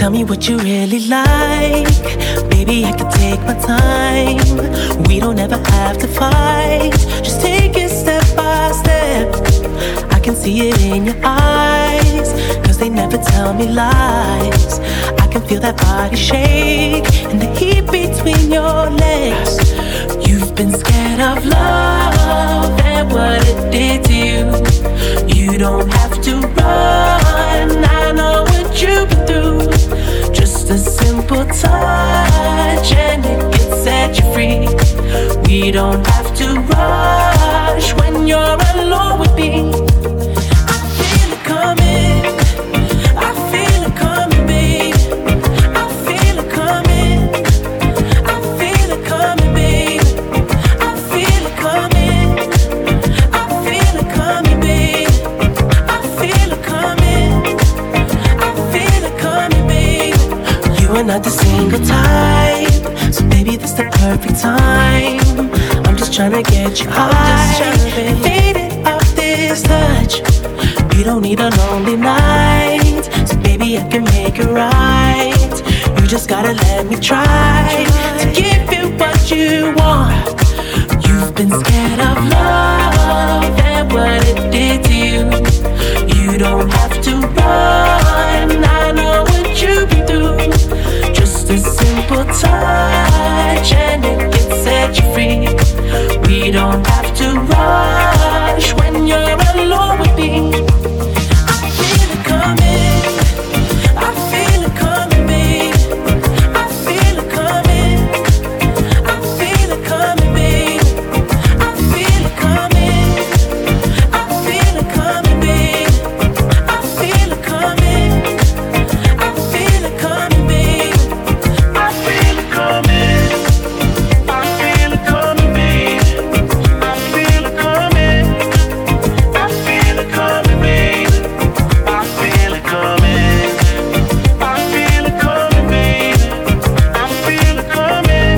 Tell me what you really like. Baby, I can take my time. We don't ever have to fight. Just take it step by step. I can see it in your eyes, 'cause they never tell me lies. I can feel that body shake and the heat between your legs. You've been scared of love and what it did to you. You don't have to run, I know what you've been through. Just a simple touch and it can set you free. We don't have to rush when you're alone with me. I feel it coming, I feel it coming, babe. I feel it coming, I feel it coming, babe. I feel it coming, I feel it coming, babe. I feel it coming, I feel it coming, babe. You are not the single type, so baby, this the perfect time. I'm just tryna get you high, faded off this touch. You don't need a lonely night, so baby, I can make it right. You just gotta let me try to give you what you want. You've been scared of love and what it did to you. You don't have to run, I know what you've been through. Just a simple touch and it can set you free. We don't have to rush when you're alone with me. I feel it coming, I feel it coming, babe. I feel it coming, I feel it coming, babe. I feel it coming, I feel it coming, babe. I feel it coming, I feel it coming, babe. I feel it coming, I feel it coming, babe. I feel it coming, I feel it coming, babe. I feel it coming, I feel it coming, babe. I feel it coming,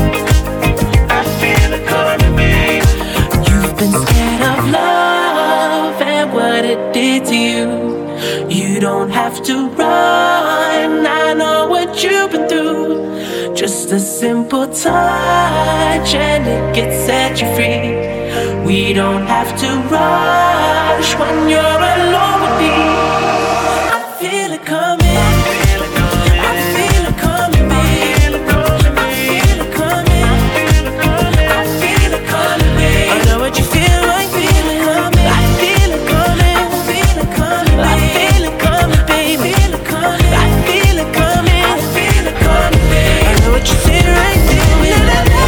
I feel it coming, babe. You've been scared of love and what it did to you. You don't have to run, I know what you've been through. Just a simple touch and it can set you free. We don't have to rush when you're alone with me. I feel it coming, I feel it coming, I feel it coming, babe. I feel it coming, I feel it coming, babe. I know what you feel like, feel it coming. I feel it coming, I feel it coming, I feel it coming, baby. I feel it coming, I feel it coming, babe. I know what you feel right, feel it.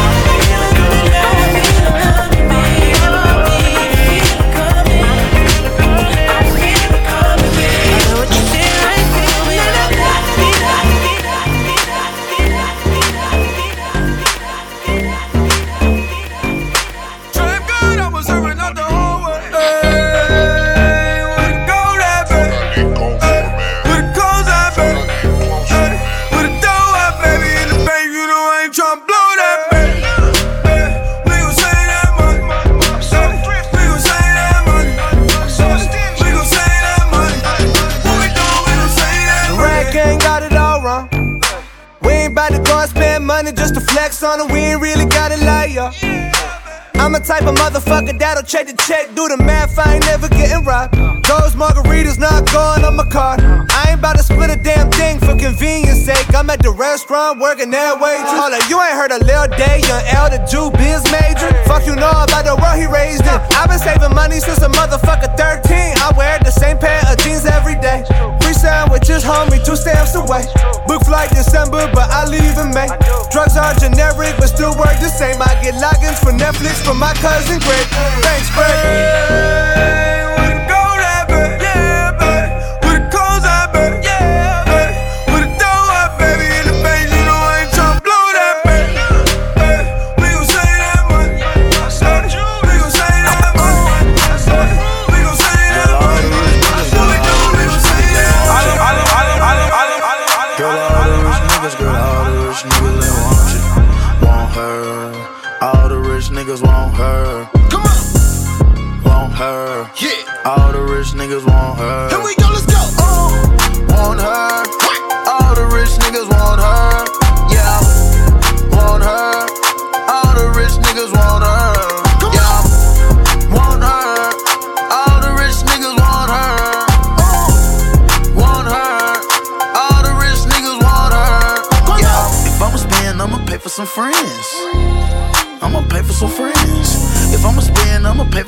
Just to flex on it, we ain't really gotta lie, yo. I'm a type of motherfucker that'll check the check, do the math, I ain't never getting robbed. Those margaritas not going on my card. I ain't about to split a damn thing for convenience sake. I'm at the restaurant working that way too. Hold up, you ain't heard of Lil Day, young L, the Jew biz major. Fuck you know about the world he raised in. I've been saving money since a motherfucker 13. I wear the same pair of jeans every day. Free sandwiches, homie, 2 stamps away. Book flight December, but I leave in May. Drugs are generic, but still work the same. I get logins for Netflix from my cousin Greg. Thanks, Greg. Hey, wouldn't go that bad, yeah, babe. With the cones I bet, yeah, babe. With the dough up, baby, in the bank, you know I ain't tryna blow that, babe. Hey, we gon' say that money. We gon' say that money. We gon' say that money. What we do, we gon' say that money. Girl, all the rich niggas, girl, all the rich niggas, they want you, want her. All the rich niggas want her. Come on. Want her. Yeah. All the rich niggas want her. Here we go, let's go. Want her. All the rich niggas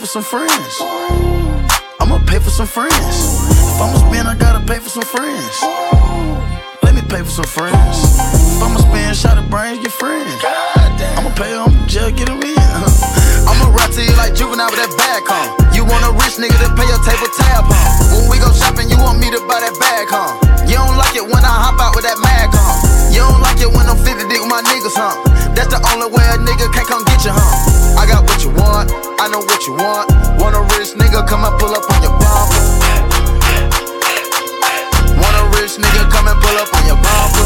some friends. I'ma pay for some friends. If I'ma spend, I gotta pay for some friends. Let me pay for some friends. If I'ma spend, shot of brains, get friends. I'ma pay them, just get them in. I'ma rap to you like Juvenile with that bag, huh? You want a rich nigga to pay your table tab, huh? When we go shopping, you want me to buy that bag, huh? You don't like it when I hop out with that mag, huh? You don't like it when I'm 50 dick with my niggas, huh? That's the only way a nigga can't come get you, huh? I got what you want, I know what you want. Want a rich nigga, come and pull up on your bumper. Want a rich nigga, come and pull up on your bumper.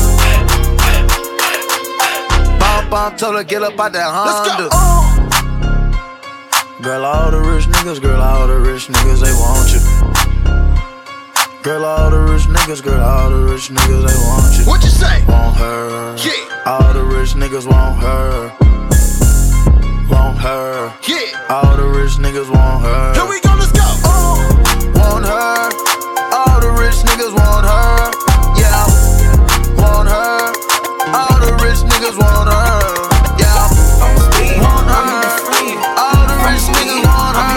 Bump, told her get up out that Honda. Let's go. Girl, all the rich niggas, girl, all the rich niggas, they want you. Girl, all the rich niggas, girl, all the rich niggas, they want you. What you say? Want her. Yeah. All the rich niggas want her. Want her. Yeah. All the rich niggas want her. Here we go, let's go. Want her. All the rich niggas want her. Yeah. Want her. All the rich niggas want her. Yeah. Want her. All the rich niggas want her.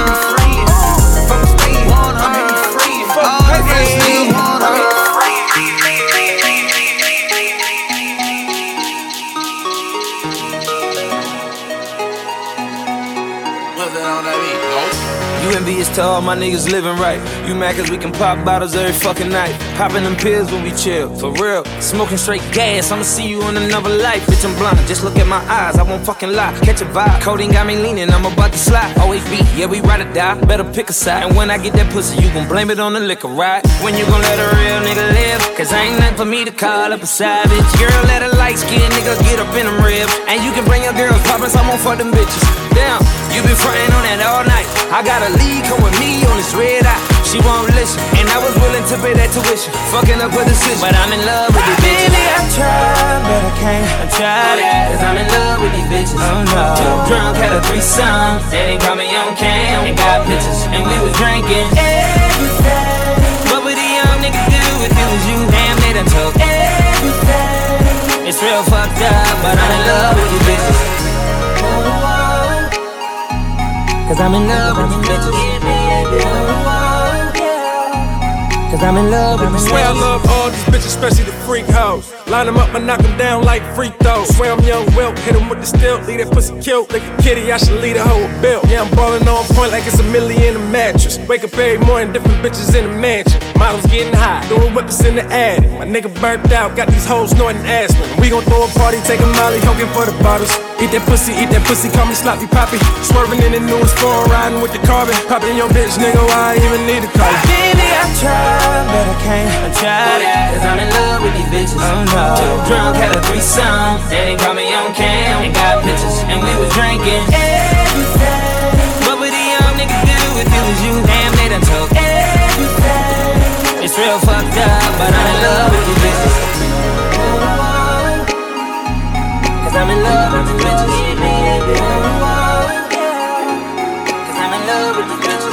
Want her. All the rich niggas want her. You envious to all my niggas living right. You mad cause we can pop bottles every fucking night. Popping them pills when we chill, for real. Smoking straight gas, I'ma see you in another life. Bitch, I'm blind, just look at my eyes, I won't fucking lie. Catch a vibe, codeine got me leaning, I'm about to slide. Always be, yeah, we ride or die, better pick a side. And when I get that pussy, you gon' blame it on the liquor, right? When you gon' let a real nigga live? Cause I ain't nothing for me to call up a savage. Girl, let a light skin nigga get up in them ribs. And you can bring your girls poppin', so I'm gon' fuck them bitches. Damn, you been frontin' on that all night. I got a lead, come with me on this red eye. She won't listen, and I was willing to pay that tuition. Fucking up with the decision, but I'm in love with these bitches. Baby, I tried, but I can't. I tried it, cause I'm in love with these bitches. Oh no. Too drunk, had a threesome. They call me on cam, and got pictures, and we was drinking everything. What would a young nigga do if it was you? Damn, they done took everything. It's real fucked up, but I'm in love with these bitches. Cause I'm in love with these bitches. Cause I'm in love with these bitches. Swear I love all these bitches, especially the freak hoes. Line them up and knock them down like free throws. Swear I'm young Wilt, hit them with the stilt. Leave that pussy killed like a kitty, I should leave the hoe a bill. Yeah, I'm ballin' on point like it's $1 million a mattress. Wake up every morning, different bitches in the mansion. Models getting high, doing whippers in the attic. My nigga burnt out, got these hoes snorting aspirin. We gon' throw a party, take a molly, hoping for the bottles. Eat that pussy, call me sloppy poppy. Swerving in the newest phone, riding with the carbon. Poppin' your bitch, nigga, why I even need a car? Baby, I tried, but I can't. I tried it, cause I'm in love with these bitches. Oh no. Too drunk, had a threesome. They call me on cam, and got pictures, and we was drinking everything. What would a young nigga do if it was you? Damn, they done took everything. It's real fucked up, but I'm in love with these bitches. Cause I'm in love with these bitches. Cause I'm in love with these bitches.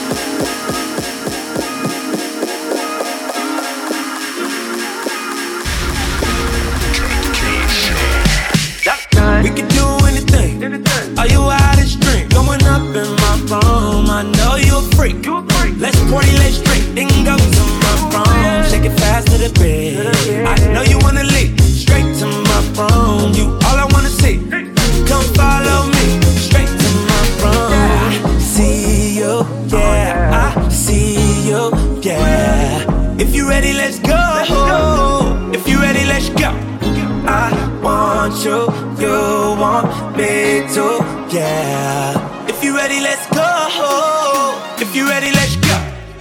We can do anything. Are you out of drink? Going up in my room. I know you're a freak. Let's party, let's drink. Then go to my room. Shake it fast to the bed. I know you wanna leave. Straight to my room. You all I wanna see. Come follow me. Straight to my room. I see you, yeah. I see you, yeah. If you ready, let's go. If you ready, let's go. I want you, you want me too, yeah. If you ready, let's go. If you ready, let's go.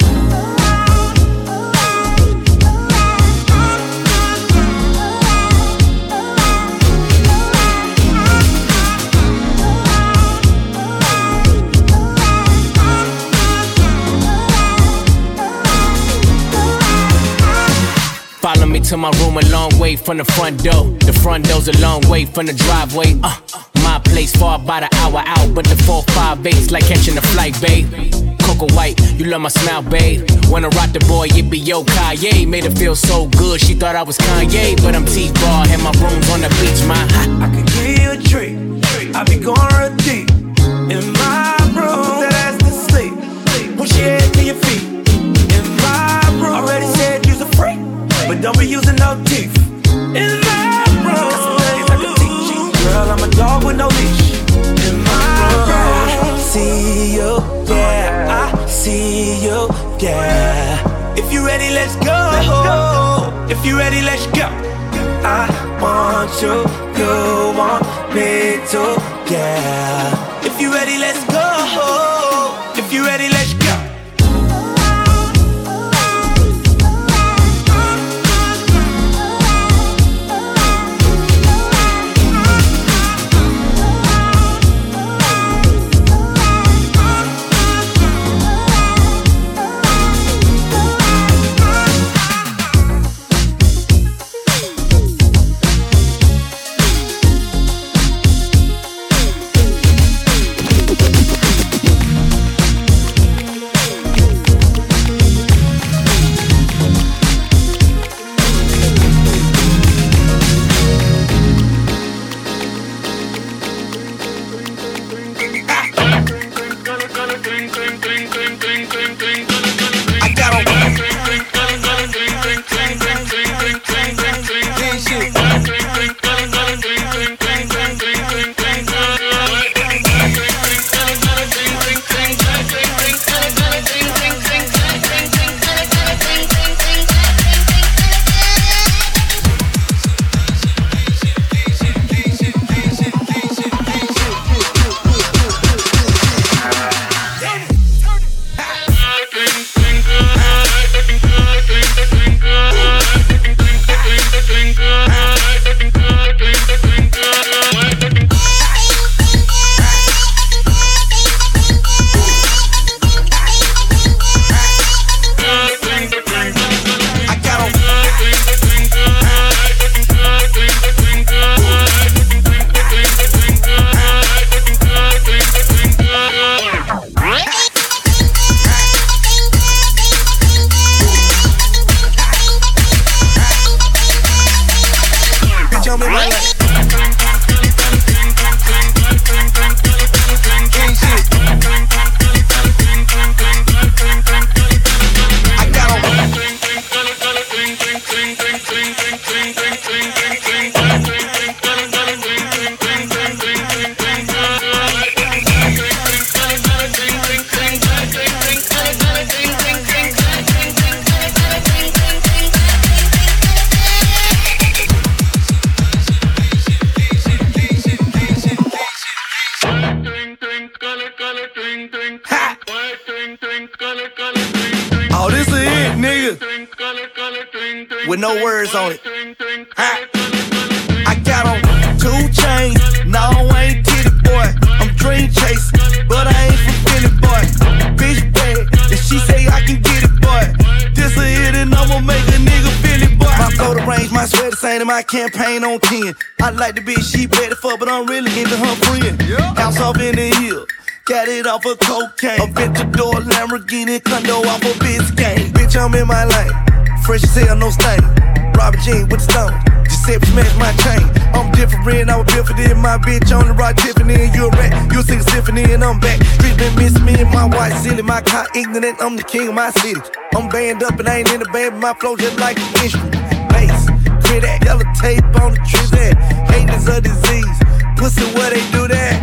Follow me to my room, a long way from the front door. The front door's a long way from the driveway. My place far about an hour out, but the 458's like catching a flight, babe. Coco White, you love my smile, babe. When I rock the boy, it be yo Kanye. Made her feel so good, she thought I was Kanye, but I'm T-Bar, and my room's on the beach, man. I could give you a treat. I be going real deep in my room. That's the push your head to your feet. In my room, already said you's a freak, but don't be using no teeth. In my room, got some things I can teach you. Girl, I'm a dog with no leash. In my room, see you, yeah, I see you, yeah. If you ready, let's go. If you ready, let's go. I want you, you want me to, yeah. If you ready, let's go. If you ready, let's go. Oh, this is it, nigga. With no words on it. I got on 2 chains. No, I ain't kitty boy. I'm dream chasing, but I ain't from Philly boy. Bitch bad, and she say I can get it, boy. This a hit and I'ma make a nigga feel it, boy. My flow to range, my sweater saying my campaign on 10. I like the bitch she better fuck, but I'm really into her friend. House off in the hill. Got it off of cocaine. A Ventador Lamborghini condo off of Biscayne. Bitch, I'm in my lane. Fresh as hell, no stain. Robert Jean with the stone. Giuseppe smash my chain. I'm different, I was built for this. My bitch on the rock Tiffany, and you a rat. You sing a symphony, and I'm back. Street been missing me and my white silly. My car ignorant, I'm the king of my city. I'm banned up and I ain't in the band, but my flow just like an instrument. Bass, clear that yellow tape on the tree there. Hate is a disease. Pussy, where they do that?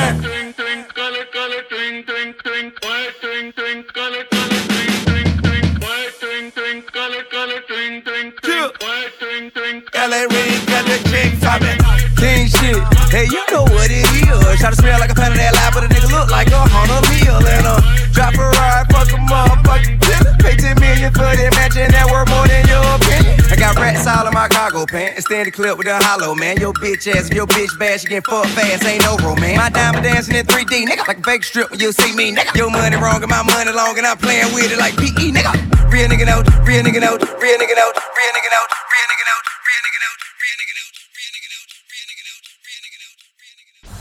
LA Reed got the chick poppin'. King shit, hey, you know what it is. Try to smell like a pound of that lie, but a nigga look like a $100 million. And drop a ride, fuck a motherfucking killer. Pay 10 million for that mansion, that worth more than your opinion. I got rats all in my cargo pants. Stand the clip with the hollow, man. Your bitch ass, if your bitch bad, she get fucked fast, ain't no romance. My diamond dancing in 3D, nigga. Like a fake strip when you see me, nigga. Your money wrong and my money long, and I'm playing with it like PE, nigga. Real nigga know, real nigga know, real nigga know, real nigga know, real nigga know, real nigga know, real nigga know, real nigga know, real nigga know, real nigga know, real nigga know.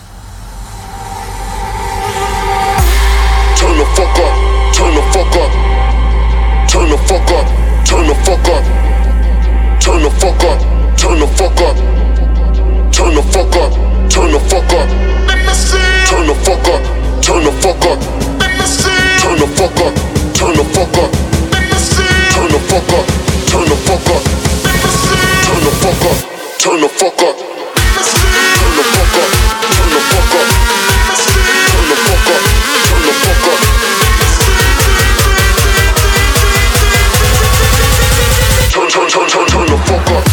Turn the fuck up, turn the fuck up, turn the fuck up, turn the fuck up, turn the fuck up, turn the fuck up, turn the fuck up, turn the fuck up, turn the fuck up, turn the fuck up, turn the fuck up. fuck up. Turn the fuck up. Turn the fuck up. Turn the fuck up. Turn the fuck up. Turn the fuck up. Turn the fuck up. Turn the fuck up. Turn the fuck up. Turn the fuck up.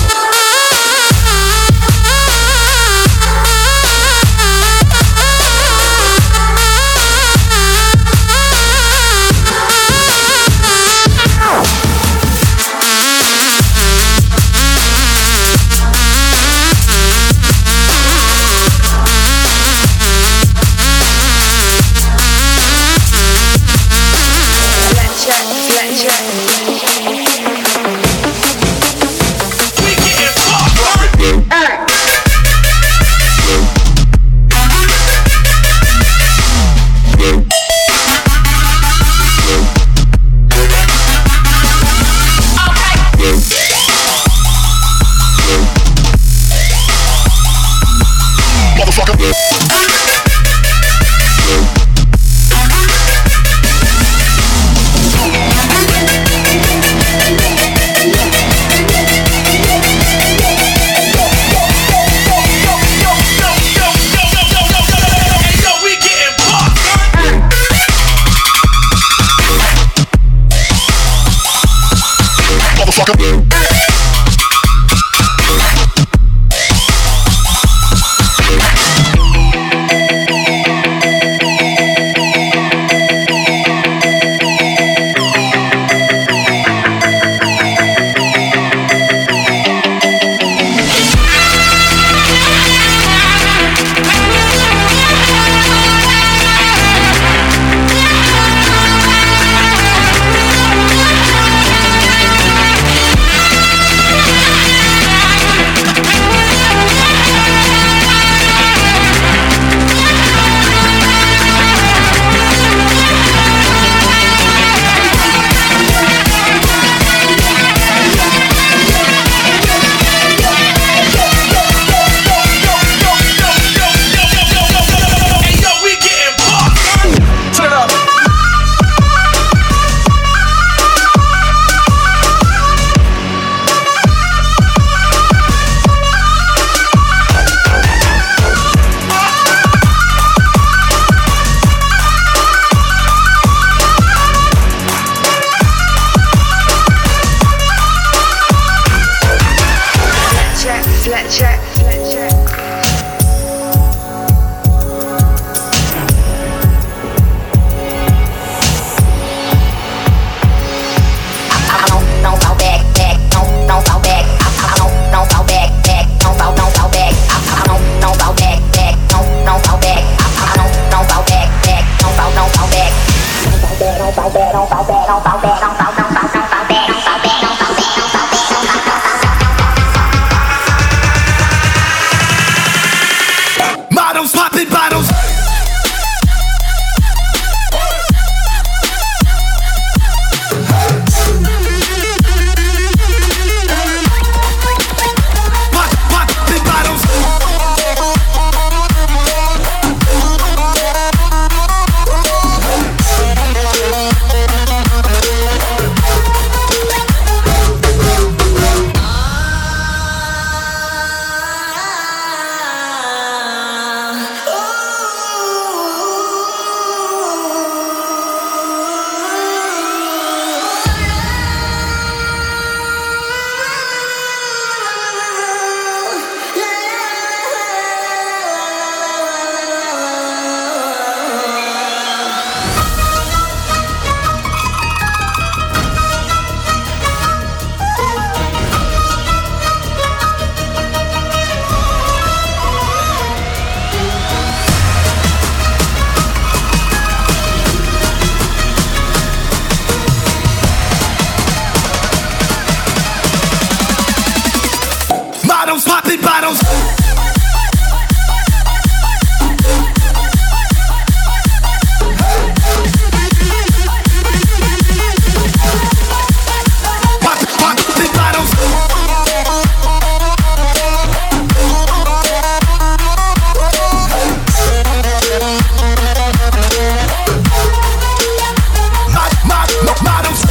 Models.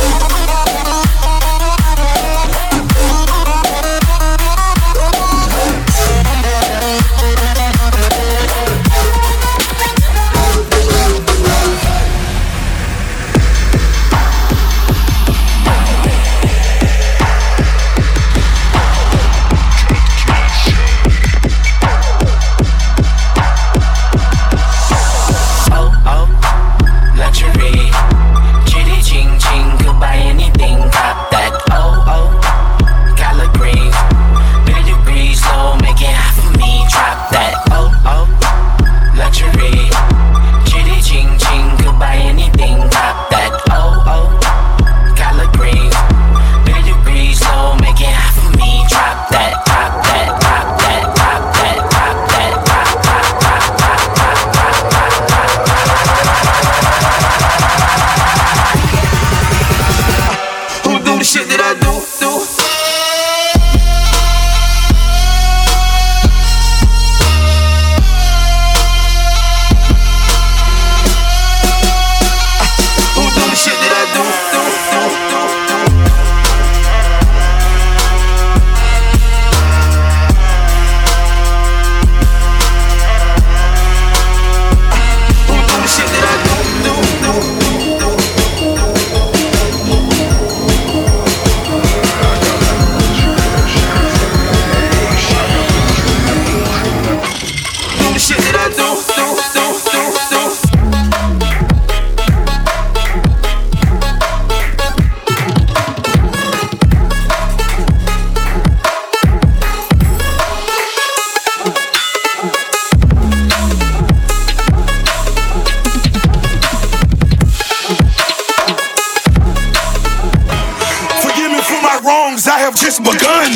wrongs, I have just begun.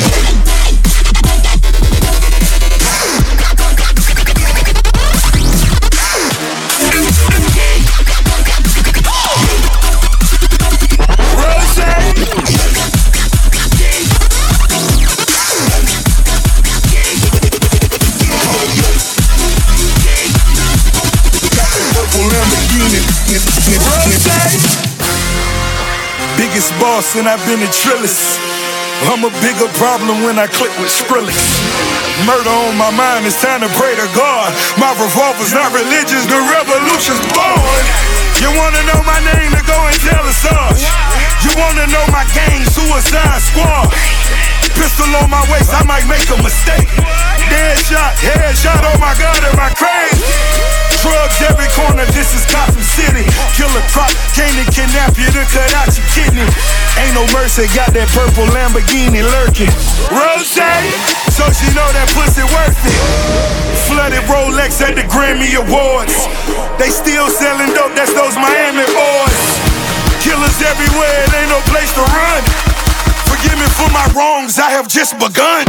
Biggest boss and I've been a trillist. I'm a bigger problem when I click with Skrillex. Murder on my mind, it's time to pray to God. My revolver's not religious, the revolution's born. You wanna know my name, then go and tell us all. You wanna know my gang, Suicide Squad. Pistol on my waist, I might make a mistake. Dead shot, headshot, oh my God, am I crazy? Drugs every corner, this is Gotham City. Killer Croc, came to kidnap you to cut out your kidney. Ain't no mercy, got that purple Lamborghini lurking. Rose, so she know that pussy worth it. Flooded Rolex at the Grammy Awards. They still selling dope, that's those Miami boys. Killers everywhere, it ain't no place to run. Forgive me for my wrongs, I have just begun.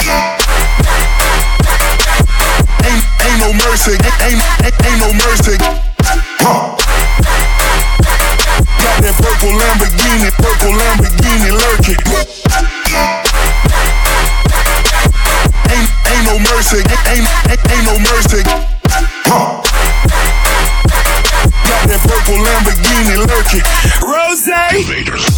Ain't no mercy, ain't no mercy. Huh. Got that purple Lamborghini lurking. Ain't no mercy, ain't no mercy. Huh. Got that purple Lamborghini lurking. Rose.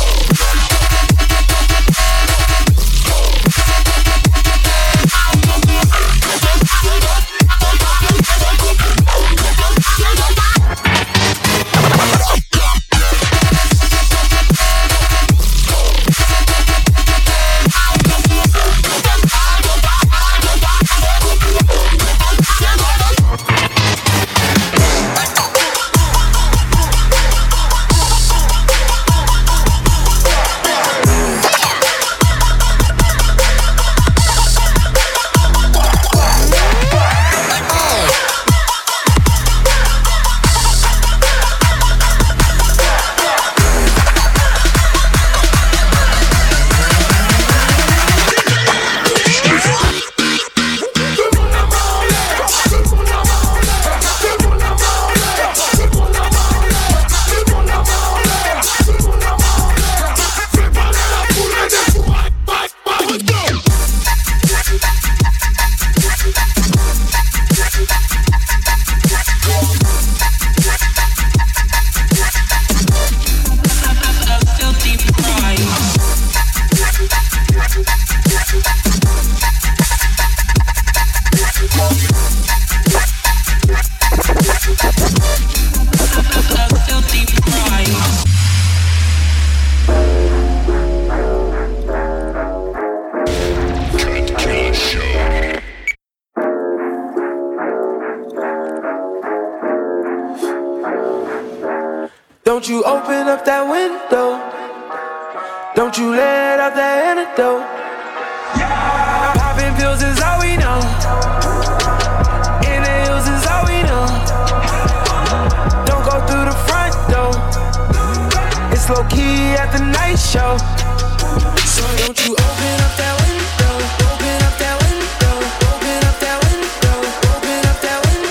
Don't you open up that window. Don't you let out that antidote. Popping pills is all we know. Inhales is all we know. Don't go through the front door. It's low key at the night show. So don't you open up that window. Open up that window. Open up that window. Open up that window.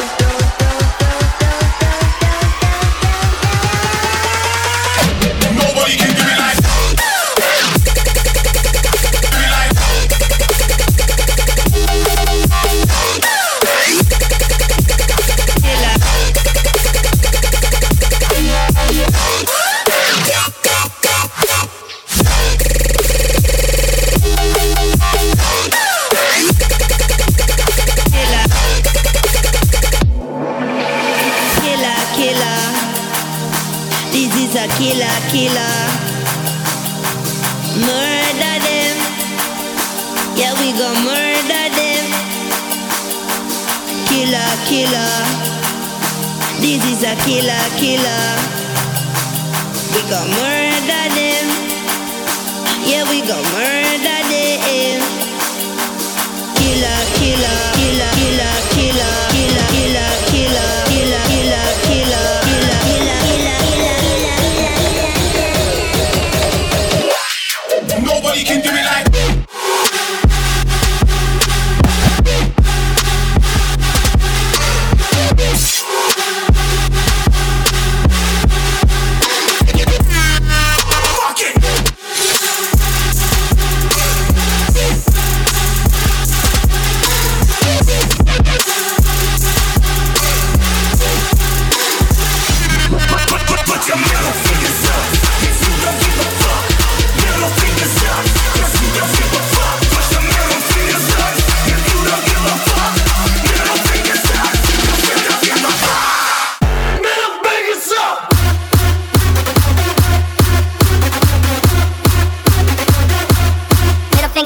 Nobody can do it like killer. Murder them. Yeah, we gon' murder them. Killer. This is a killer. We gon' murder them. Yeah, we gon' murder them. Killer.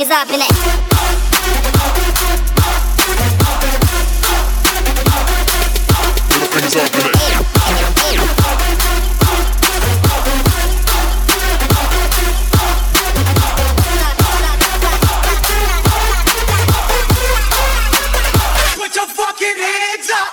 fingers up in it. Put your fingers up in it. Put your fucking hands up.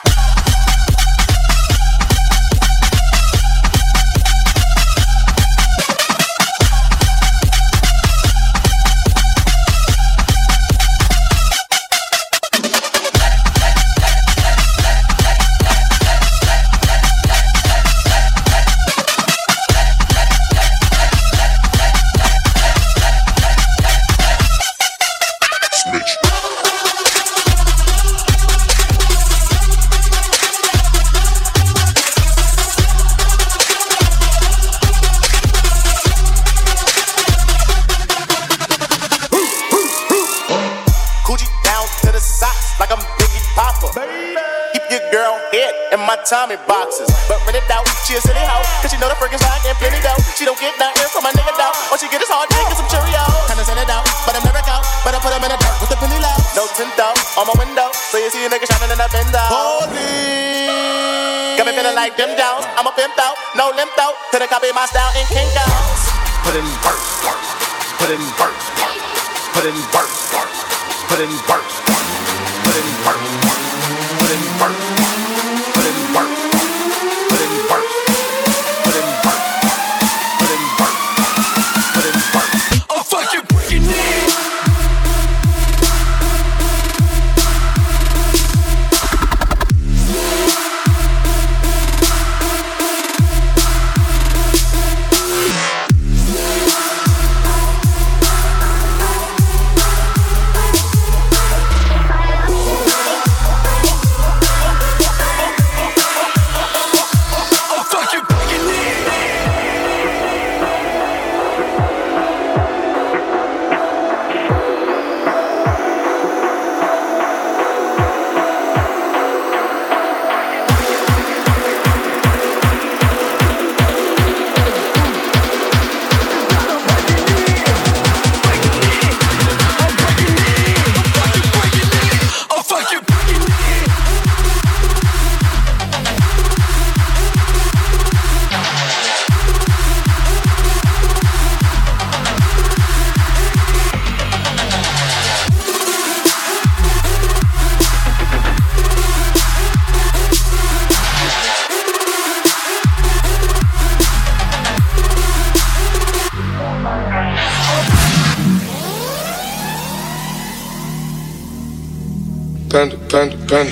Tommy boxes, but rent it out. She a silly hoe, cause she know the freaking side and plenty dough. She don't get nothing from my nigga though. All she get is hard dick and some Cheerios. Kinda send it out, but I'm never out. But I put them in a dirt with the penny low. No tint though, on my window, so you see a nigga shining in that window. Holy, got me feeling like them Jones. I'm a pimp though, no limp though. To the copy my style in Kinko's. Put in work, put in work, put in work, put in work, put in work, put in work. Panda.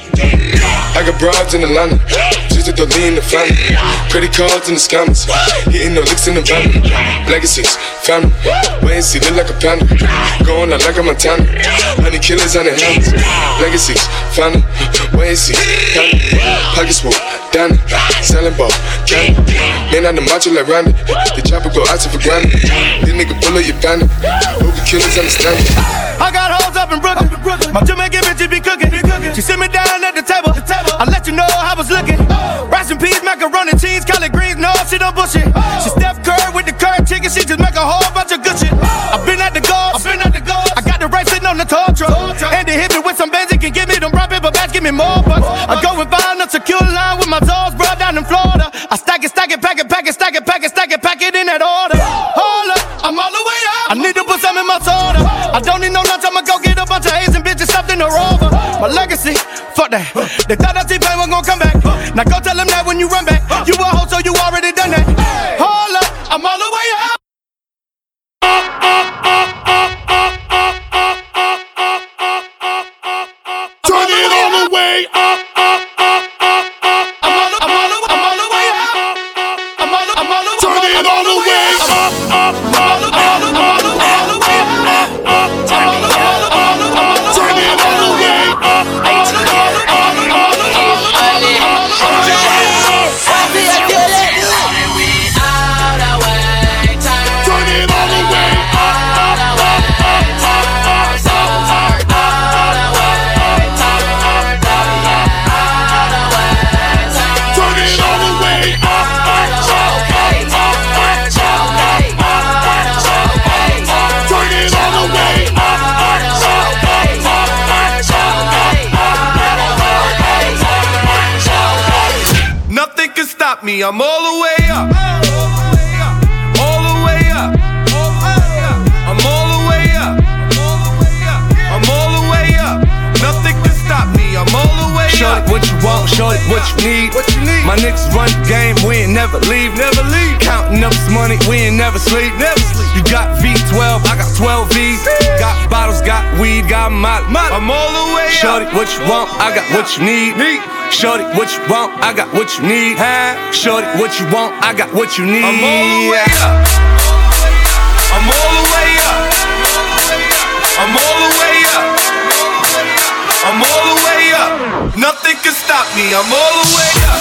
I got broads in Atlanta, just at the lean the family. Credit cards in the scammers, hitting no licks in the van. Legacies, family, wait and see, look like a panda. Going out like a Montana, honey killers on the hands. Legacies, family, wait and see, family. Pockets full, Danny, selling ball, candy. Man on the macho like Randy, the chopper go out to for granted. This nigga pull up your bandit, hope the killers understand it. I got hoes up in Brooklyn. My Jamaican bitches be cooking. She sit me down at the table. I let you know how I was looking. Rice and peas, macaroni, cheese, collard greens. No, she don't bullshit. She Steph Curry with the curry chicken. She just make a whole bunch of good shit. I've been at the golf. I got the right sitting on the tow truck. And they hit me with some Benzie. Can give me them brown paper bags. Give me more bucks. I go and find a secure line with my toes, bro, down in Florida. I stack it, pack it in that order. Hold up, I'm all the way up. I need to put some in my soda. I don't need no lunch, I'ma go get a bunch of Asian bitches stuffed in the rover. My legacy, fuck that. They thought that T-Pain was gonna come back. Now go tell them that when you run back. You a hoe, so you already done that. Hold up, I'm all the way up. Turn it all the way up. me. I'm all the way up. All the way up. I'm all the way up. I'm all the way up. Nothing can stop me. I'm all the way up. Shorty, what you want? Shorty, what you need? My niggas run the game, we ain't never leave. Counting up this money, we ain't never sleep. You got V12, I got 12 V's. Got bottles, got weed, got molly. I'm all the way up. Shorty, what you want? I got what you need. Shorty, what you want? I got what you need. Shorty, what you want? I got what you need. I'm all the way up. I'm all the way up. I'm all the way up. I'm all the way up. Nothing can stop me. I'm all the way up.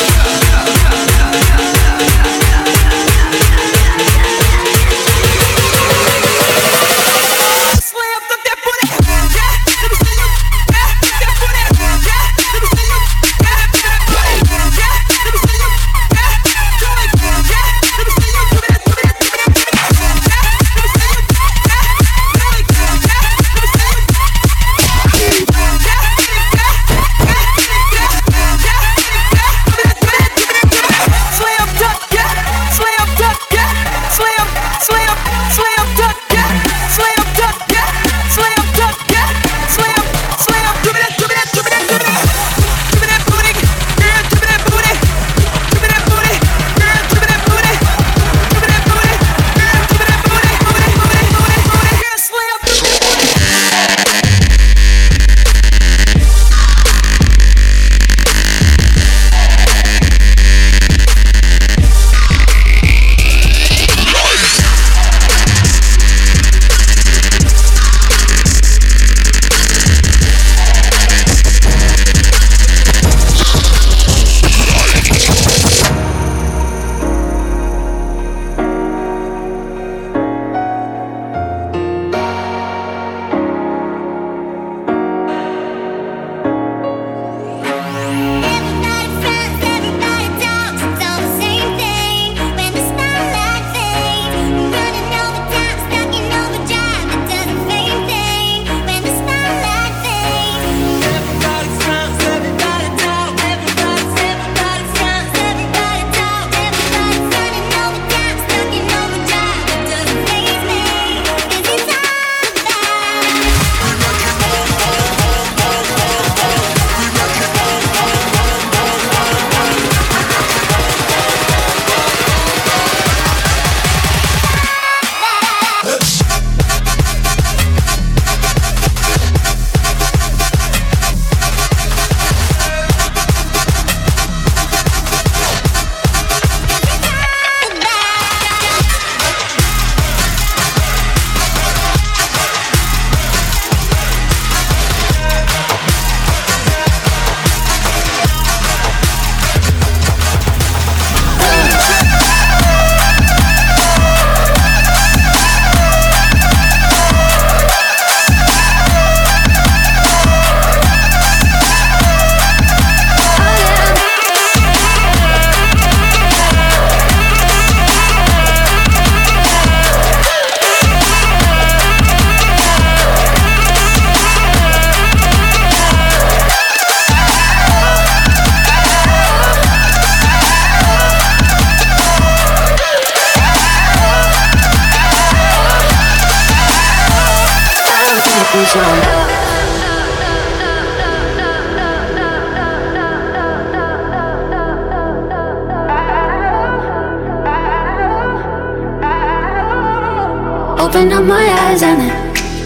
Open up my eyes and then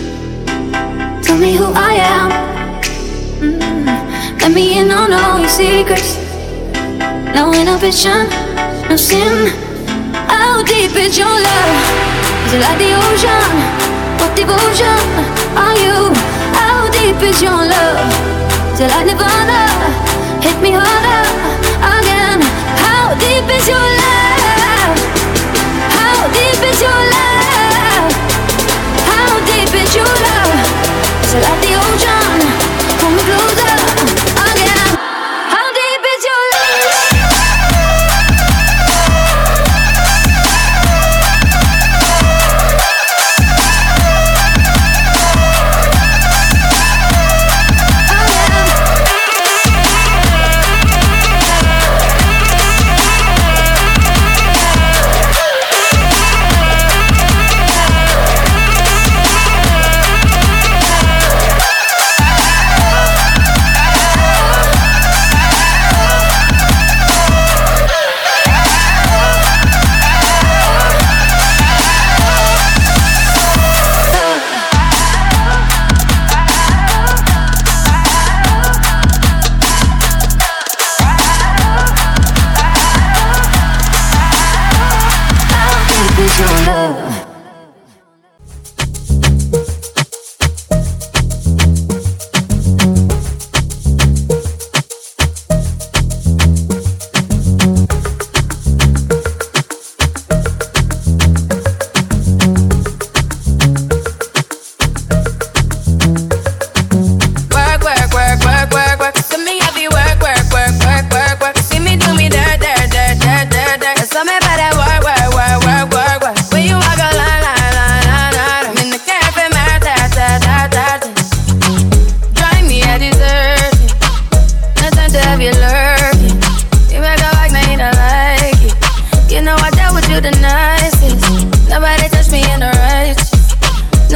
tell me who I am. Let me in on all your secrets. No inhibition, no sin. How deep is your love? Is it like the ocean? What devotion are you? How deep is your love? Is it like Nirvana? Hit me harder again. How deep is your love? How deep is your love? How deep is your love? Is it like the ocean? Pull me closer again. How deep is your love?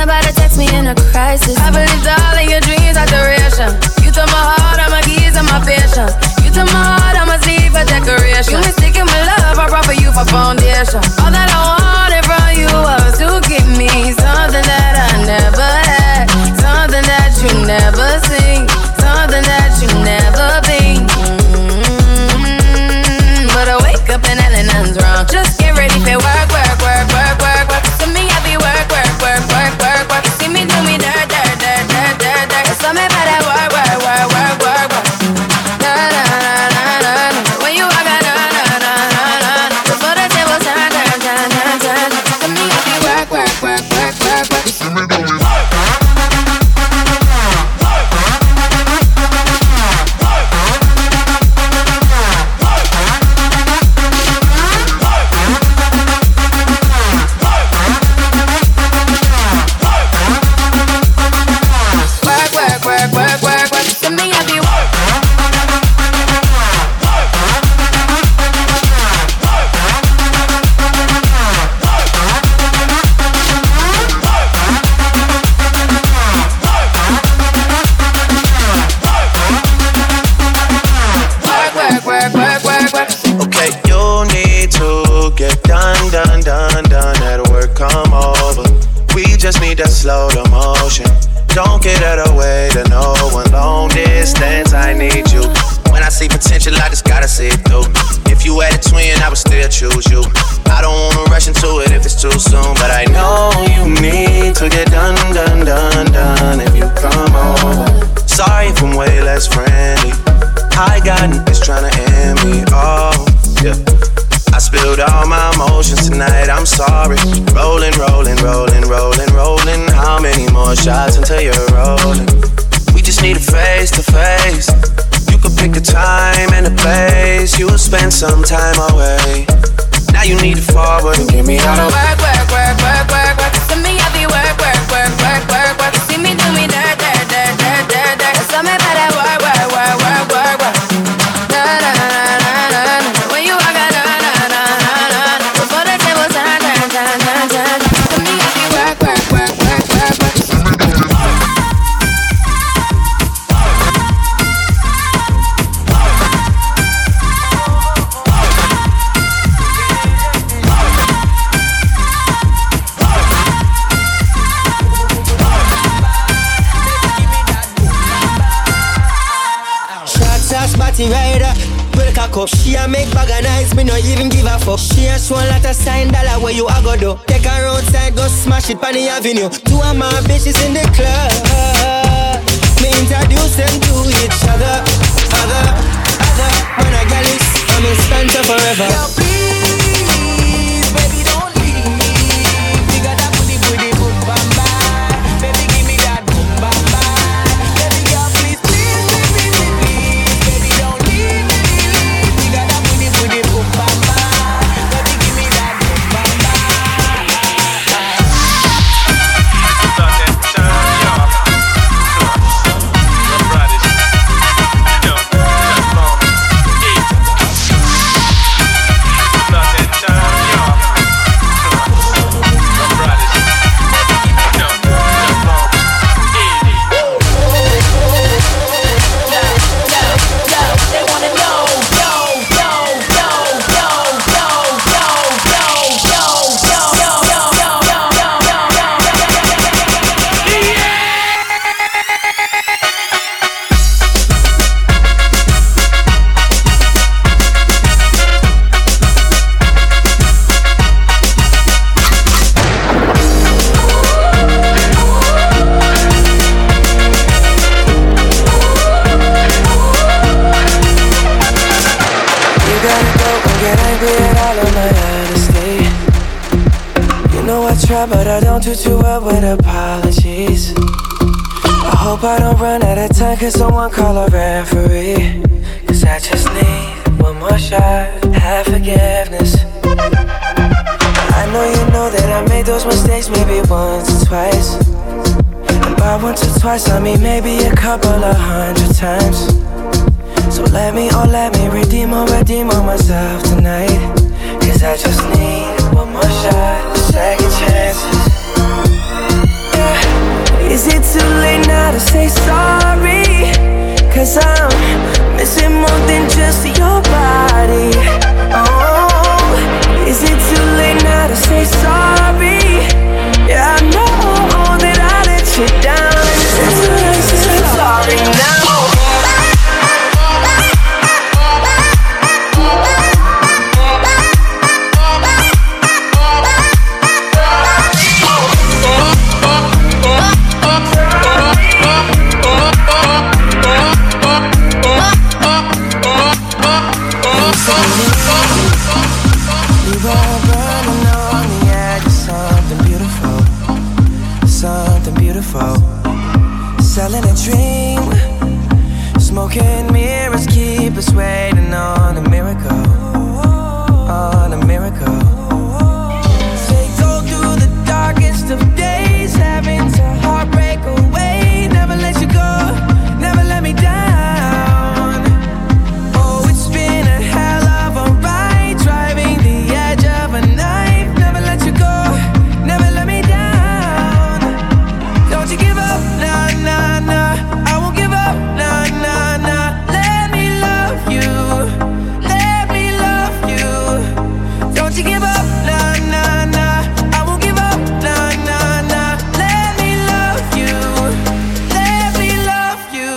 Nobody text me in a crisis. I believed all of your dreams are duration. You took my heart, all my keys, and my patience. You took my heart, I must leave a decoration. You mistaken my love, I brought for you for foundation. All that I wanted from you was to give me something that I never had, something that you never seen, something that you never been. But I wake up and nothing's wrong. Just get ready for work, work, work, work, work, work. To me, I be work, work, work, work, work, work. You see me do me dirt, dirt, dirt, dirt, dirt, dirt. So me better work, work, work, work, work, work. Na na na na na. When you walk, na na na na na. Before the table turn, turn, turn, turn, turn. To me, I be work, work, work, work, work, work. You see me do me work. Slow the motion. Don't get out of the way to no one. Long distance, I need you. When I see potential, I just gotta see it through. If you had a twin, I would still choose you. I don't wanna rush into it if it's too soon, but I know you need to get done, done, done, done. If you come over, sorry if I'm way less friendly. I got niggas tryna end me. Oh, yeah. I spilled all my emotions tonight, I'm sorry. Rolling, rolling, rolling, rolling, rolling. How many more shots until you're rolling? We just need a face to face. You could pick the time and the place. You will spend some time away. Now you need to forward and give me all the work, work, work, work, work, work. To me, I be work, work, work, work, work, work. You see me do me dirt, dirt, dirt, dirt, dirt, dirt. So me better work, work, work, work, work, work. Na na na na na. When you walk, na na na na na. Before the table turn, turn, turn, turn, turn. To me, I be work, work, work, work, work, work. Rider, break a cup. She a make bag of nice, me no even give a fuck. She a show a lot of sign dollar where you a go do. Take her outside, go smash it on the avenue. Two of my bitches in the club. Me introduce them to each other. Other, when I get this, I'm in stand forever. Yo, please, baby, don't leave. You got that booty, booty, boom, bam, bam. Baby, give me that boom, bam, bam. Baby, girl, please, please, baby, please. Baby, don't leave, baby, leave. You got that booty, booty, boom, bam, bam. Baby, give me that boom, bam, bam. But I don't do too well with apologies. I hope I don't run out of time, cause someone call a referee. Cause I just need one more shot, have forgiveness. I know you know that I made those mistakes maybe once or twice. And by once or twice I mean maybe a couple of 100 times. So let me redeem on myself tonight. Cause I just need one more shot, second chances. Yeah. Is it too late now to say sorry? 'Cause I'm missing more than just your body. Oh, is it too late now to say sorry? Yeah, I know that I let you down. Is it too late to say sorry now? Selling a dream, smoking mirrors keep us waiting on a miracle, on a miracle. They go through the darkest of days, having to heartbreak away. Never let you go, never let me down. Oh, it's been a hell of a ride, driving the edge of a knife. Never let you go, never let me down. Don't you give up, nah, nah, nah. I won't give up, nah, nah, nah. Let me love you, let me love you. Don't you give up, nah, nah, nah. I won't give up, nah, nah, nah. Let me love you, let me love you.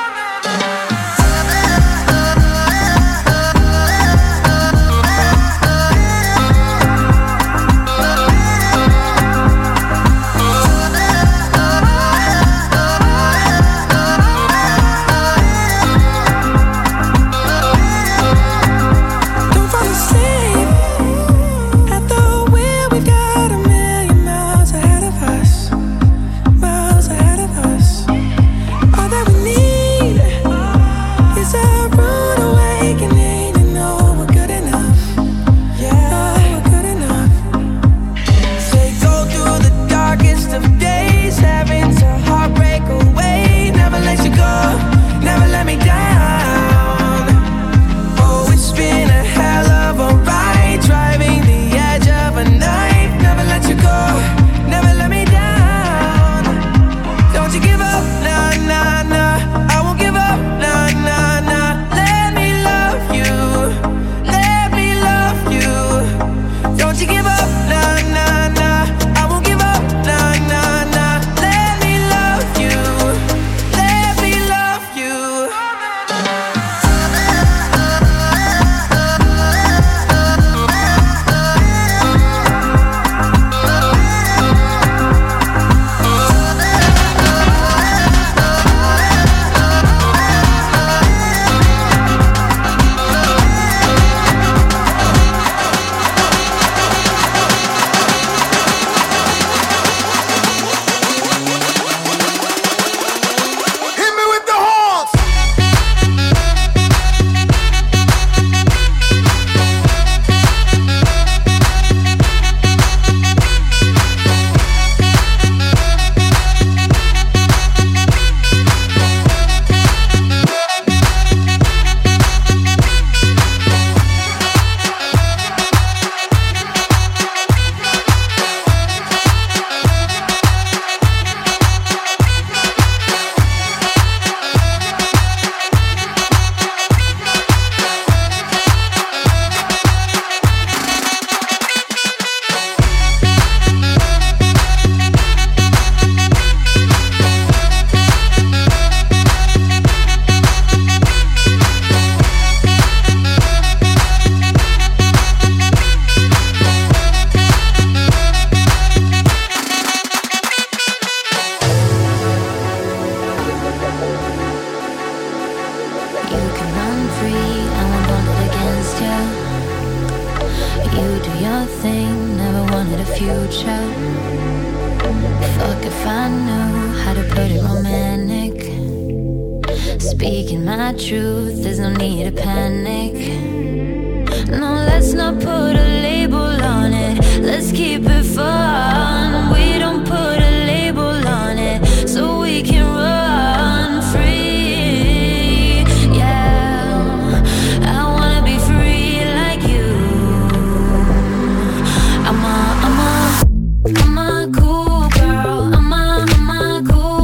Don't fall asleep at the wheel. We've got a million miles ahead of us, miles ahead of us. All that we need is a rude awakening to know we're good enough. Yeah, we're good enough. They go through the darkest of days, having to heartbreak away. Never let you go, never let me down. Oh, it's been a hell of a ride, driving the edge of a knife. Never let you go, never let me down. Don't you give up, nah, nah, nah. I won't give up, nah, nah, nah. Let me love you, let me love you. Don't you give up, nah, nah, nah. I won't give up, nah, nah, nah. Let me love you, let me love you. Hit me with the horns. You can run free, I won't hold it against you. You do your thing, never wanted a future. Fuck if I knew how to put it romantic. Speaking my truth, there's no need to panic. No, let's not put a label on it. Let's keep it fun. We don't put a label on it, so we can run free. Yeah, I wanna be free like you. I'm a cool girl. I'm a cool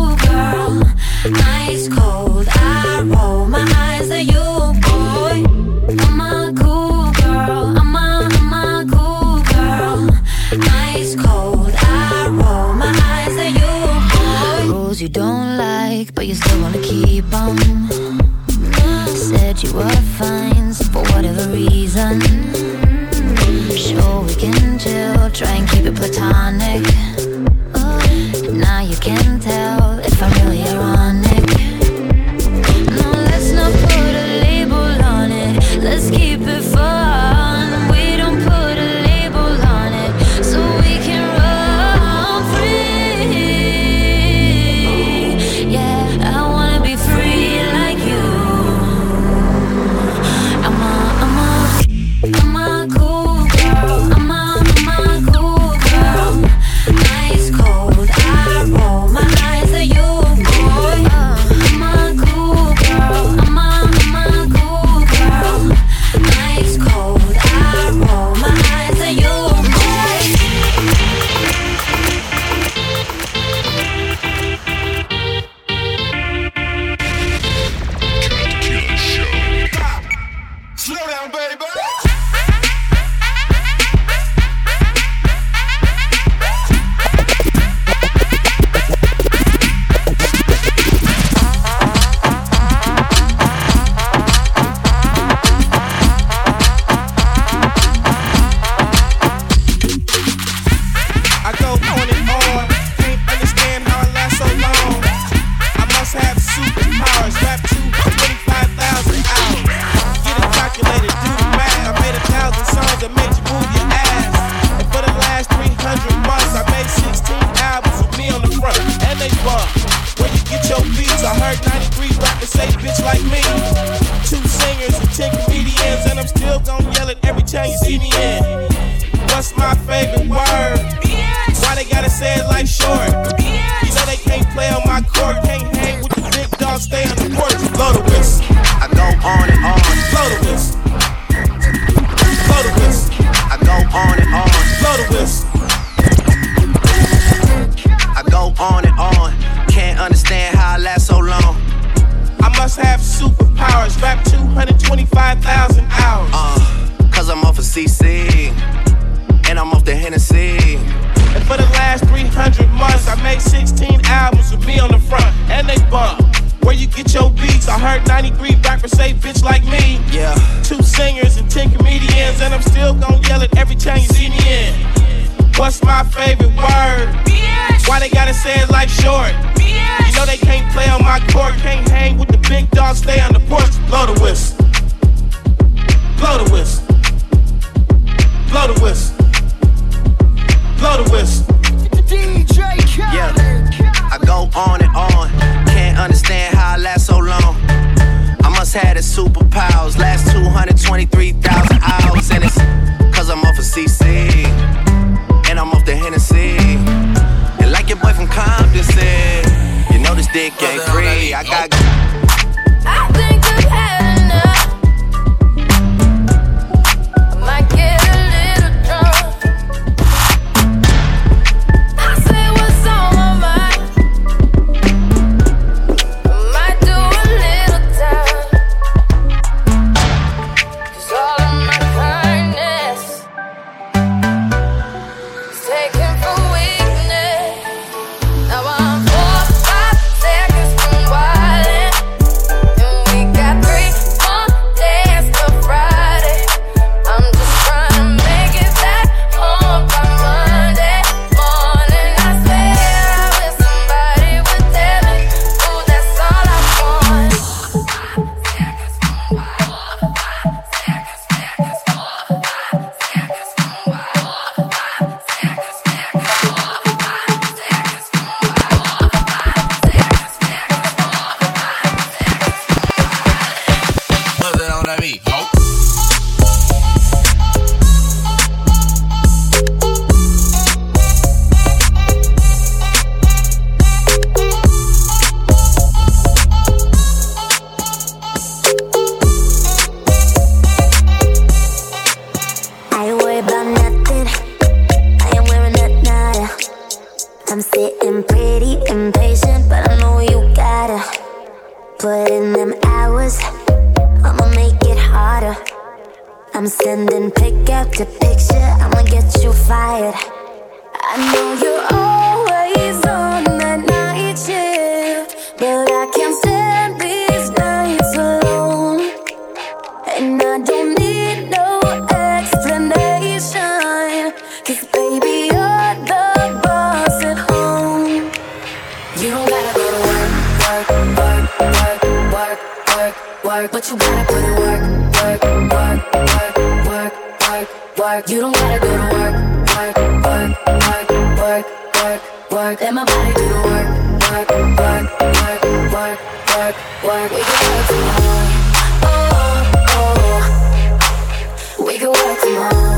clothes you don't like, but you still wanna keep them. Said you were fine, so for whatever reason. Sure, we can chill, try and keep it platonic. Now you can tell if I'm really ironic. No, let's not put a label on it. Let's keep it fun. We don't put a label on it, so we can run free. Yeah, I wanna be free like you. I'm a cool girl. I'm a cool girl. Ice cold, I roll my eyes at you, boy. I'm a cool girl. I'm a cool girl. Ice cold, I roll my eyes at you, boy. Slow down, baby. I go on and on, can't understand how I last so long. I must have superpowers, rap to 25,000 hours. Get it calculated, do the math. I made 1,000 songs that made you move your ass. And for the last 300 months, I made 16 albums with me on the front, and they bump. Where you get your beats, I heard 93 rappers say bitch like me. 2 singers and 10 comedians, and I'm still gon' yell it every time you see me in. What's my favorite word? Why they gotta say it like short? You know they can't play on my court, can't hang with the big dogs, stay on the porch. Blow the whistle. I go on and on. Blow the whistle. Blow the whistle. I go on and on. Blow the whistle. I go on and on. Can't understand how I last so long. I must have superpowers, rap 225,000 hours. Cause I'm off of CC, and I'm off the Hennessy. And for the last 300 months, I made 16 albums with me on the front, and they bump. Where you get your beats, I heard 93 rappers say bitch like me. Yeah. 2 singers and 10 comedians, and I'm still gon' yell it every time you see me in. What's my favorite word? Why they gotta say it like short? You know they can't play on my court, can't hang with the big dogs, stay on the porch. Blow the whistle. Blow the whistle. Blow the whistle. Blow the whistle. DJ Khaled. Yeah, I go on and on. Can't understand how I last so long. I must have the superpowers. Last 223,000 hours. And it's cause I'm off of CC, and I'm off the Hennessy. And like your boy from Compton said, you know this dick ain't free. I got. I think I've had enough. I might get a little drunk. I say what's on my mind. I might do a little time. 'Cause all of my kindness is taken for weakness. Now I'm 4, 5 seconds from wildin'. We got 3 more days till Friday. I'm just trying to make it back home by Monday morning. I swear I wish somebody would tell me, ooh, that's all I want. Put it on that beat, ho. I ain't worried about nothing. I am wearing a nada. I'm sitting pretty impatient, but I know you gotta put in them hours. I'ma make it harder. I'm sending pick after picture. I'ma get you fired. I know you're always on that night shift. You don't gotta go to work, work, work, work, work, work, work, but you gotta put in work, work, work, work, work, work, work. You don't gotta go to work, work, work, work, work, work, work. Let my body do the work, work, work, work, work, work, work. We can work tomorrow. Oh, oh. We can work tomorrow.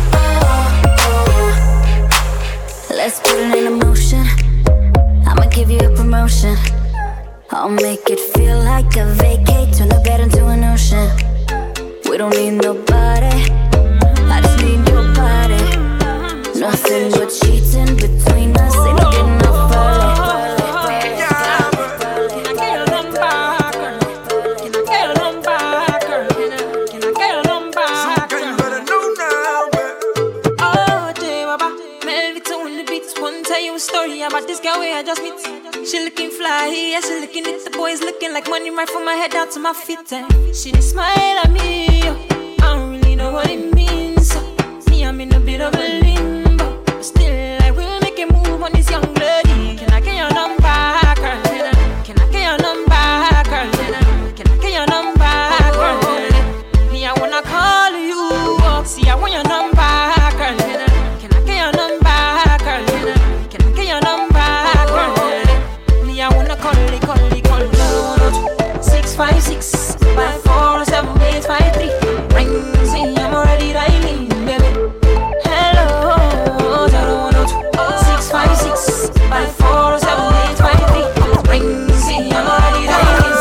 Oh, oh. Let's put it in motion. I'ma give you a promotion. I'll make it feel like a vacate. Turn the bed into an ocean. We don't need nobody. I just need your body. Nothing but cheating between us. Ain't no getting off early. Story about this girl where I just meet. She looking fly, yeah, she looking at the boys looking like money right from my head down to my feet. She just smile at me, I don't really know what it means. See, I'm in a bit of a limbo, but still I will make a move on this young lady. Can I get your number, girl? Can I get your number, girl? Can I get your number, girl? Me, I wanna call you. See, I want your number, girl. Can I get your number, girl? Your number, girl. Me, I wanna call it. 656 54 7853. Rings in, I'm already dialing, baby. Hello, 656 54 7853. Rings in, I'm already dialing,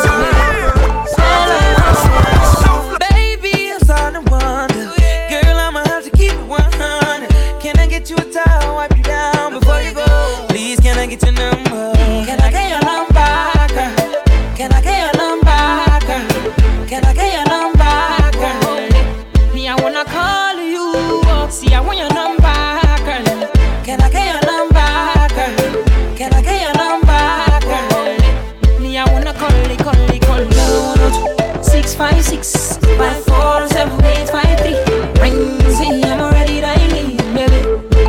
hello. Baby, I'm starting to wonder, girl, I'ma have to keep it 100. Can I get you a towel, wipe you down before you go? Can I get your number? Can I get your number, girl? Can I get your number, girl? Can I get your number, girl? Me, I wanna call you. See, I want your number, girl. Can I get your number, girl? Can I get your number, girl? Me, I wanna call it. 656 54 7853. Rings in, I'm already dialing, baby.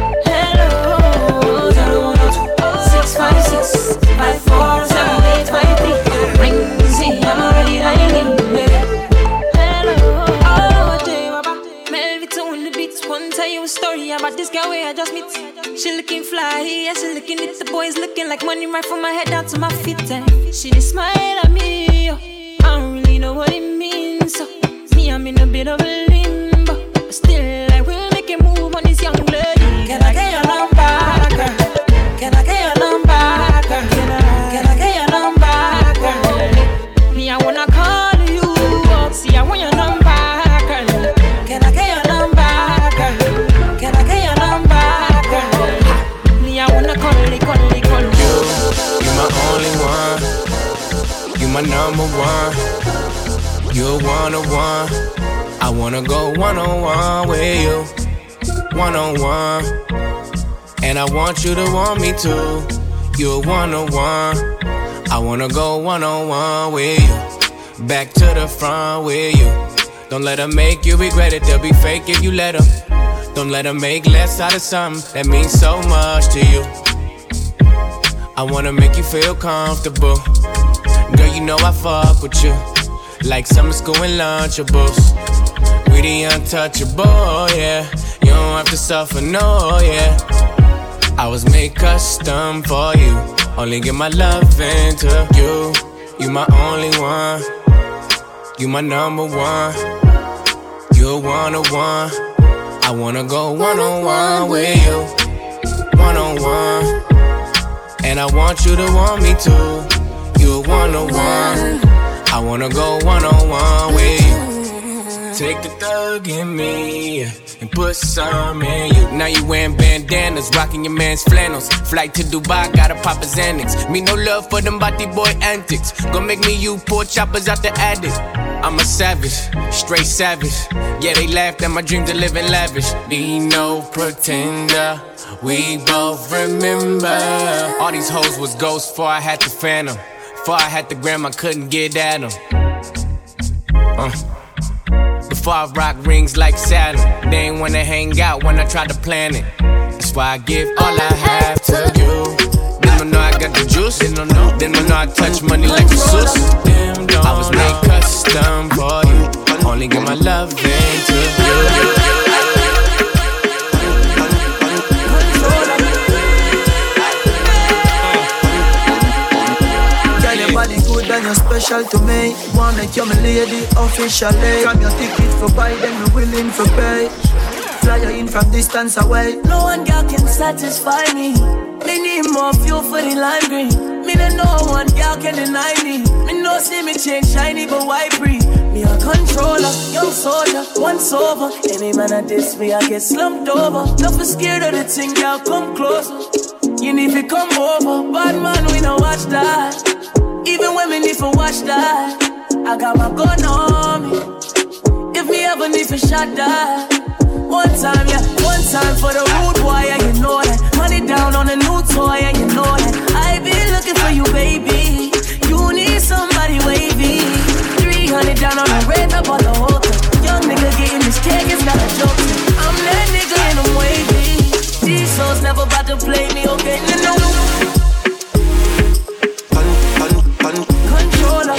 656 54 7853. Rings in, I'm already dialing, baby. Hello, oh, Melvito in the beats. One tell you a story about this girl where I just meet. She looking fly, yeah, she looking at the boys looking like money right from my head down to my feet. She just smile at me, I don't really know what it means. So, me, I'm in a bit of a limbo, but still I will make a move on this young lady. Can I get your number, girl? Can I get your number, girl? Can I get your number, girl? Me, I wanna call you. See, I want your number, girl. Can I get your number, girl? Can I get your number, girl? Me, I wanna call you. You my only one. You my number one. You're one-on-one. I wanna go one-on-one with you. One-on-one. And I want you to want me too. You're one-on-one. I wanna go one-on-one with you. Back to the front with you. Don't let her make you regret it. They'll be fake if you let them. Don't let her make less out of something that means so much to you. I wanna make you feel comfortable. Girl, you know I fuck with you like summer school and Lunchables. We the untouchable, yeah. You don't have to suffer, no, yeah. I was made custom for you. Only give my love into you. You my only one. You my number one. You're one-on-one. I wanna go one-on-one with you. One-on-one. And I want you to want me too. You're one-on-one. I wanna go one-on-one with you. Take the thug in me and put some in you. Now you wearing bandanas, rocking your man's flannels. Flight to Dubai, gotta pop his Xanax. Me no love for them body boy antics. Gonna make me you pull choppers out the attic. I'm a savage, straight savage. Yeah, they laughed at my dream to live in lavish. Be no pretender, we both remember. All these hoes was ghosts before I had the phantom. Before I had the gram, I couldn't get at them. Before I rock rings like Saturn. They ain't wanna hang out when I try to plan it. That's why I give all I have to you. Then don't know I got the juice. They don't know I touch money like a Zeus. I was made custom for you. Only give my love into you. Body good and you're special to me. Wanna make you my lady officially. Grab your ticket for buy, then we willing for pay. Fly you in from distance away. No one girl can satisfy me. Me need more fuel for the lime green. Me don't know one girl can deny me. Me no see me change shiny but white breathe. Me a controller, young soldier, once over. Any man at this me I get slumped over. Nothing scared of the thing, girl, come closer. You need to come over. Bad man, we no watch that. Even when me need to watch that, I got my gun on me. If me ever need to shot that, one time, yeah, one time for the rude boy, yeah, you know that. Money down on a new toy, yeah, you know that. I been looking for you, baby. You need somebody wavy. 300 down on the red, up on the hotel. Young nigga getting this cake, it's not a joke. I'm that nigga and I'm wavy. These souls never about to play me, okay? No. Controller.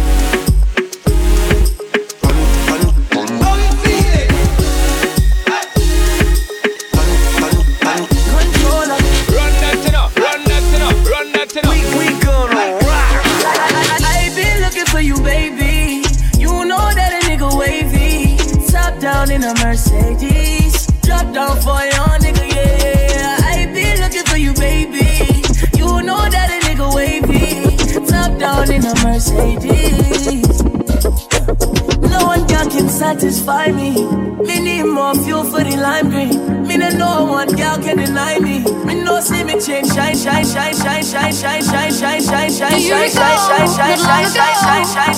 We gonna rock. I been looking for you, baby. You know that a nigga wavy. Top down in a Mercedes. Drop down for your nigga, yeah. I been looking for you, baby. You know that a nigga wavy. Top down in a Mercedes. No one girl can satisfy me. Me need more fuel for the lime green. Me no one girl can deny me. Me no see me change, shine, shine, shine, shine, shine, shine, shine, shine, shine, shine, shine, shine, shine, shine, shine, shine, shine,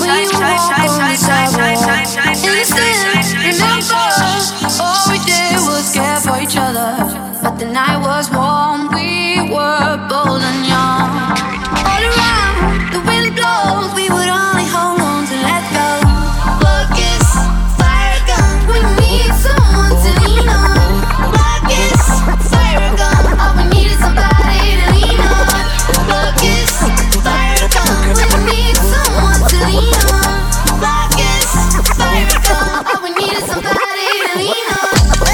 all we did was care for each other, but the night was warm. We were bold and young. All around, the wind blows. We would only hold on to let go. Focus, fire gun. We need someone to lean on. Focus, fire gun. All we need is somebody to lean on. Focus, fire gun. We need someone to lean on. Focus, fire gun. All we need is somebody to lean on.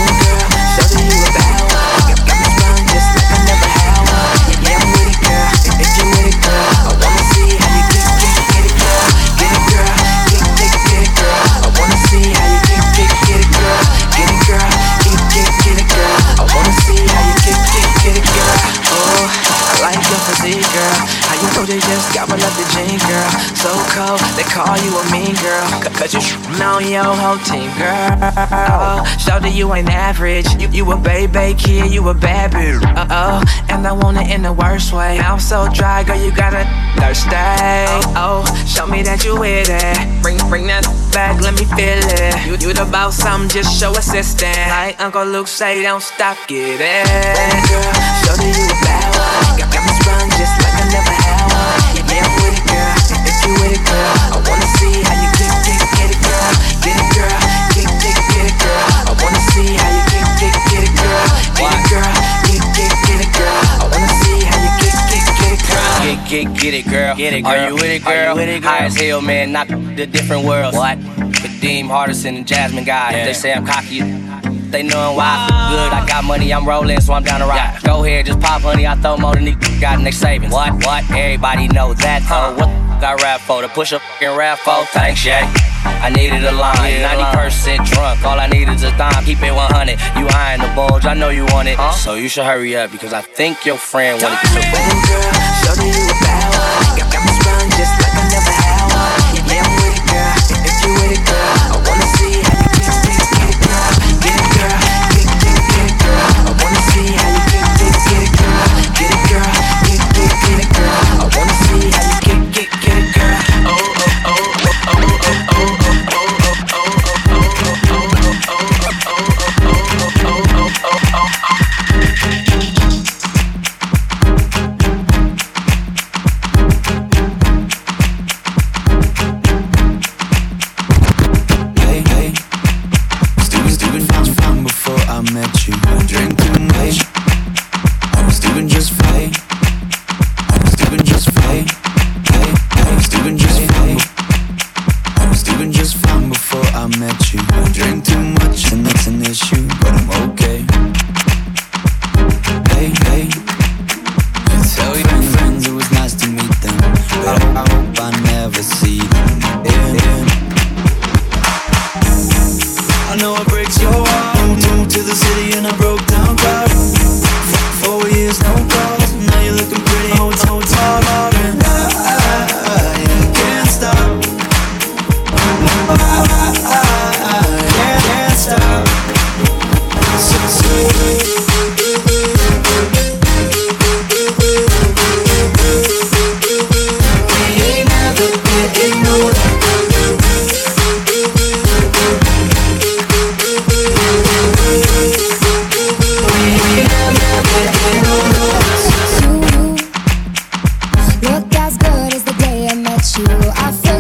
They just got my love the jean, girl. So cold, they call you a mean girl. Cause you on your whole team, girl. Show that you ain't average. You a baby kid, you a bad bitch. And I want it in the worst way. I'm so dry, girl, you gotta thirsty. Show me that you with it. Bring that back, let me feel it. You the boss, something, just show assistance. Like Uncle Luke say, don't stop, get it. Girl, show that you a bad one. Got me sprung just like I never had. Yeah, I'm with it, girl. If you with it, girl, I wanna see how you get it, girl. Get it, girl. Get it, girl. I wanna see how you get it, girl. Get it, girl. Get it, girl. I wanna see how you get it, girl. Get it, girl. Get it, girl. Are you with it, girl? High as hell, man. Not the different world. What? Kadeem Hardison and Jasmine guy. Yeah. They say I'm cocky. They knowin' why. Good, I got money, I'm rollin', so I'm down to ride. Yeah. Go ahead, just pop, honey, I throw more than these got in their savings. What? Everybody know that, though. What I rap for? To push up and rap for? Thanks, yeah. I needed a line, 90% drunk. All I need is a dime, keep it 100. You eyeing the bulge, I know you want it. So you should hurry up, because I think your friend wanted to. Girl, show that you a bad one. Got me sprung just like I never had one. Yeah, I'm with it, girl. If you with it, girl, I wanna see how you get it, girl. Get it, girl. Get it, girl. I wanna see how you get it, girl. Get it, girl. Get it, girl. I wanna see how you get it, girl. Look as good as the day I met you. I feel